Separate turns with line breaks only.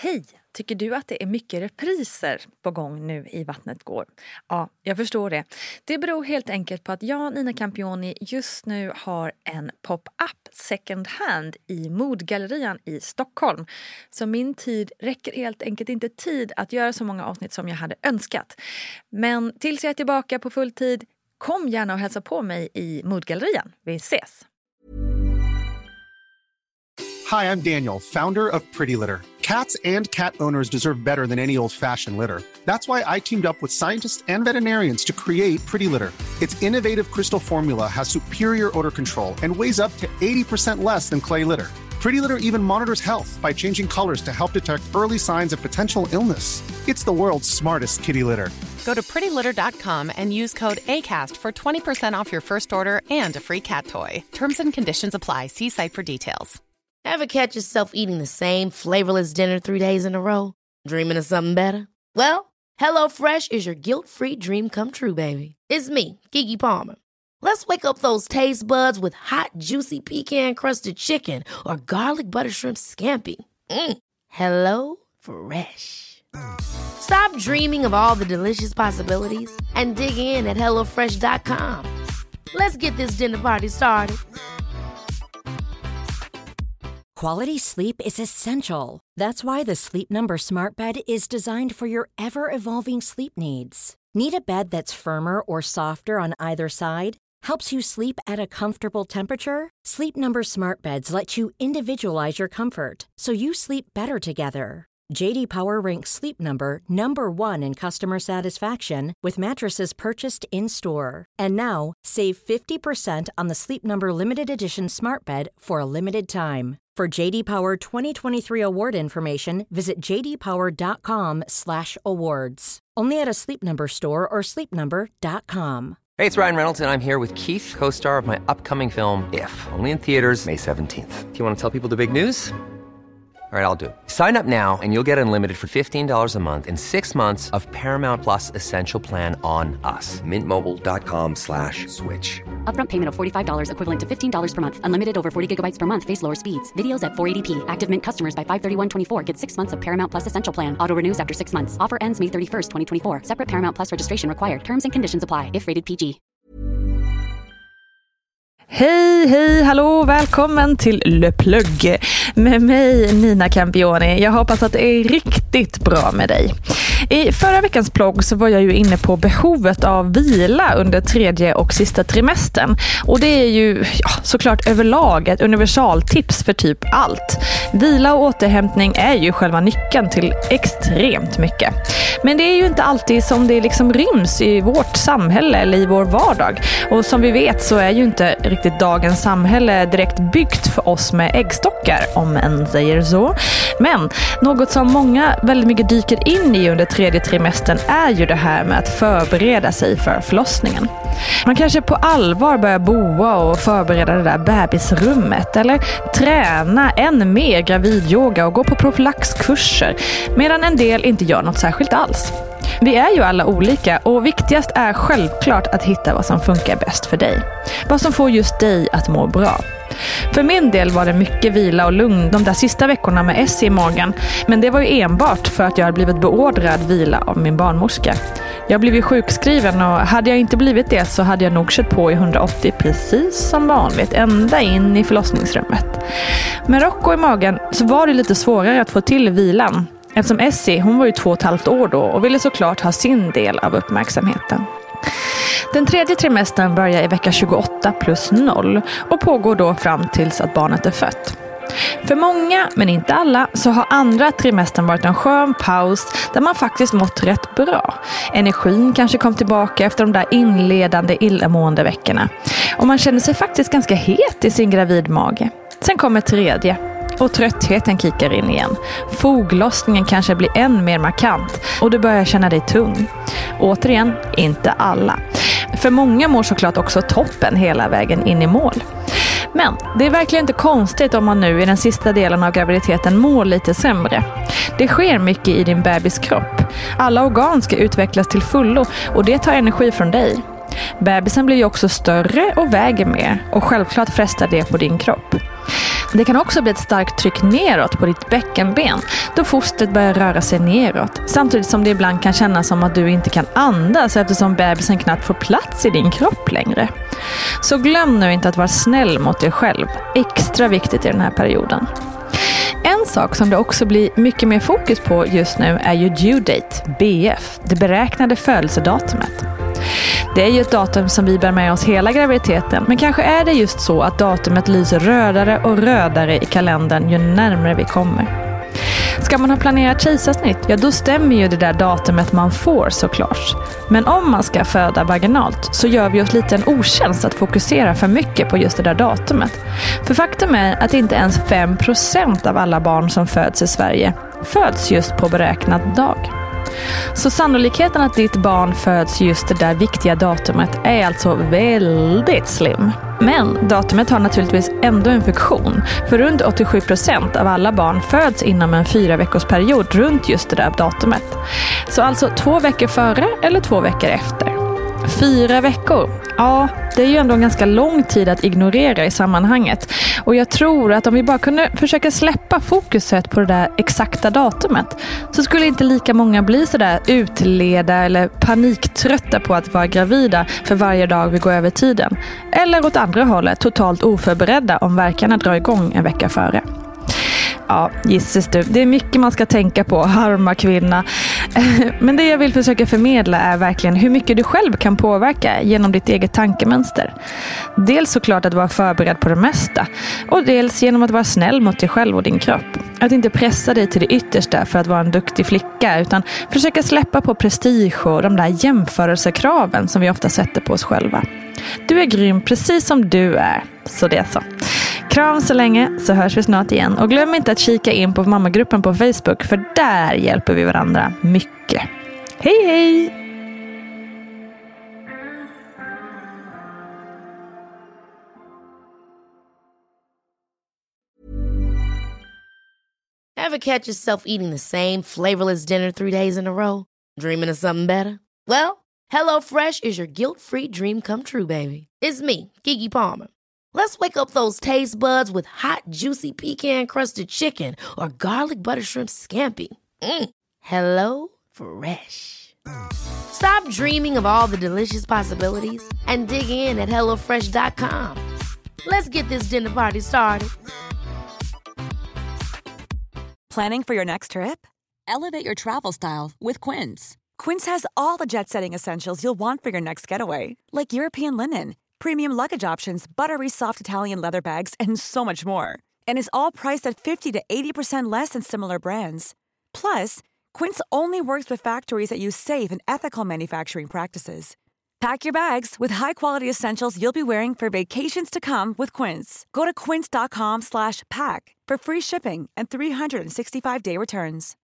Hej! Tycker du att det är mycket repriser på gång nu i Vattnet går? Ja, jag förstår det. Det beror helt enkelt på att jag, Nina Campioni, just nu har en pop-up second hand i Modgallerian i Stockholm. Så min tid räcker helt enkelt inte tid att göra så många avsnitt som jag hade önskat. Men tills jag är tillbaka på full tid, kom gärna och hälsa på mig i Modgallerian. Vi ses!
Hi, I'm Daniel, founder of Pretty Litter. Cats and cat owners deserve better than any old-fashioned litter. That's why I teamed up with scientists and veterinarians to create Pretty Litter. Its innovative crystal formula has superior odor control and weighs up to 80% less than clay litter. Pretty Litter even monitors health by changing colors to help detect early signs of potential illness. It's the world's smartest kitty litter.
Go to prettylitter.com and use code ACAST for 20% off your first order and a free cat toy. Terms and conditions apply. See site for details.
Ever catch yourself eating the same flavorless dinner 3 days in a row? Dreaming of something better? Well, HelloFresh is your guilt-free dream come true, baby. It's me, Keke Palmer. Let's wake up those taste buds with hot, juicy pecan-crusted chicken or garlic butter shrimp scampi. Hello Fresh. Stop dreaming of all the delicious possibilities and dig in at HelloFresh.com. Let's get this dinner party started.
Quality sleep is essential. That's why the Sleep Number Smart Bed is designed for your ever-evolving sleep needs. Need a bed that's firmer or softer on either side? Helps you sleep at a comfortable temperature? Sleep Number Smart Beds let you individualize your comfort, so you sleep better together. JD Power ranks Sleep Number #1 in customer satisfaction with mattresses purchased in-store. And now, save 50% on the Sleep Number Limited Edition Smart Bed for a limited time. For JD Power 2023 award information, visit jdpower.com/awards. Only at a Sleep Number store or sleepnumber.com.
Hey, it's Ryan Reynolds, and I'm here with Keith, co-star of my upcoming film, If, only in theaters May 17th. Do you want to tell people the big news? All right, I'll do it. Sign up now and you'll get unlimited for $15 a month and 6 months of Paramount Plus Essential Plan on us. Mintmobile.com/switch.
Upfront payment of $45 equivalent to $15 per month. Unlimited over 40 gigabytes per month. Face lower speeds. Videos at 480p. Active Mint customers by 531.24 get 6 months of Paramount Plus Essential Plan. Auto renews after 6 months. Offer ends May 31st, 2024. Separate Paramount Plus registration required. Terms and conditions apply if rated PG.
Hej, hallå, välkommen till Le Plug med mig Nina Campioni. Jag hoppas att det är riktigt bra med dig. I förra veckans plogg så var jag ju inne på behovet av vila under 3:e och sista trimestern. Och det är ju såklart överlag ett universaltips för typ allt. Vila och återhämtning är ju själva nyckeln till extremt mycket. Men det är ju inte alltid som det liksom ryms i vårt samhälle eller i vår vardag. Och som vi vet så är ju inte riktigt dagens samhälle direkt byggt för oss med äggstockar, om en säger så. Men något som många väldigt mycket dyker in i under 3:e trimestern är ju det här med att förbereda sig för förlossningen. Man kanske på allvar börjar boa och förbereda det där bebisrummet eller träna än mer gravidyoga och gå på profylaxkurser, medan en del inte gör något särskilt alls. Vi är ju alla olika och viktigast är självklart att hitta vad som funkar bäst för dig. Vad som får just dig att må bra. För min del var det mycket vila och lugn de där sista veckorna med S i magen. Men det var ju enbart för att jag hade blivit beordrad vila av min barnmorska. Jag blev ju sjukskriven och hade jag inte blivit det så hade jag nog kört på i 180 precis som vanligt ända in i förlossningsrummet. Med Rocco i magen så var det lite svårare att få till vilan. Eftersom Essie, hon var ju 2,5 år då och ville såklart ha sin del av uppmärksamheten. Den 3:e trimestern börjar i vecka 28 + 0 och pågår då fram tills att barnet är fött. För många, men inte alla, så har andra trimestern varit en skön paus där man faktiskt mått rätt bra. Energin kanske kom tillbaka efter de där inledande illamående veckorna. Och man känner sig faktiskt ganska het i sin gravidmage. Sen kommer 3:e. Och tröttheten kickar in igen. Foglossningen kanske blir än mer markant och du börjar känna dig tung. Återigen, inte alla. För många mår såklart också toppen hela vägen in i mål. Men det är verkligen inte konstigt om man nu i den sista delen av graviditeten mår lite sämre. Det sker mycket i din bebis kropp. Alla organ ska utvecklas till fullo och det tar energi från dig. Bebisen blir ju också större och väger mer och självklart frestar det på din kropp. Det kan också bli ett starkt tryck neråt på ditt bäckenben då fostret börjar röra sig neråt, samtidigt som det ibland kan kännas som att du inte kan andas eftersom bebisen knappt får plats i din kropp längre. Så glöm nu inte att vara snäll mot dig själv, extra viktigt i den här perioden. En sak som det också blir mycket mer fokus på just nu är ju due date, BF, det beräknade födelsedatumet. Det är ju ett datum som vi bär med oss hela graviditeten, men kanske är det just så att datumet lyser rödare och rödare i kalendern ju närmare vi kommer. Ska man ha planerat kejsarsnitt, ja då stämmer ju det där datumet man får såklart. Men om man ska föda vaginalt så gör vi oss lite en otjänst att fokusera för mycket på just det där datumet. För faktum är att inte ens 5% av alla barn som föds i Sverige föds just på beräknad dag. Så sannolikheten att ditt barn föds just det där viktiga datumet är alltså väldigt slim. Men datumet har naturligtvis ändå en funktion, för runt 87% av alla barn föds inom en 4-veckorsperiod runt just det där datumet. Så alltså 2 veckor före eller 2 veckor efter. 4 veckor. Ja, det är ju ändå en ganska lång tid att ignorera i sammanhanget. Och jag tror att om vi bara kunde försöka släppa fokuset på det där exakta datumet så skulle inte lika många bli sådär utleda eller paniktrötta på att vara gravida för varje dag vi går över tiden. Eller åt andra hållet, totalt oförberedda om verkarna drar igång en vecka före. Ja, gissas du. Det är mycket man ska tänka på, arma kvinna. Men det jag vill försöka förmedla är verkligen hur mycket du själv kan påverka genom ditt eget tankemönster. Dels såklart att vara förberedd på det mesta. Och dels genom att vara snäll mot dig själv och din kropp. Att inte pressa dig till det yttersta för att vara en duktig flicka, utan försöka släppa på prestige och de där jämförelsekraven som vi ofta sätter på oss själva. Du är grym precis som du är, så det är så. Kram så länge, så hörs vi snart igen. Och glöm inte att kika in på mammagruppen på Facebook, för där hjälper vi varandra mycket. Hej hej!
Ever catch yourself eating the same flavorless dinner 3 days in a row? Dreaming of something better? Well, HelloFresh is your guilt-free dream come true, baby. It's me, Keke Palmer. Let's wake up those taste buds with hot, juicy pecan-crusted chicken or garlic butter shrimp scampi. Hello Fresh. Stop dreaming of all the delicious possibilities and dig in at HelloFresh.com. Let's get this dinner party started.
Planning for your next trip? Elevate your travel style with Quince. Quince has all the jet-setting essentials you'll want for your next getaway, like European linen, premium luggage options, buttery soft Italian leather bags, and so much more. And is all priced at 50 to 80% less than similar brands. Plus, Quince only works with factories that use safe and ethical manufacturing practices. Pack your bags with high-quality essentials you'll be wearing for vacations to come with Quince. Go to quince.com/pack for free shipping and 365-day returns.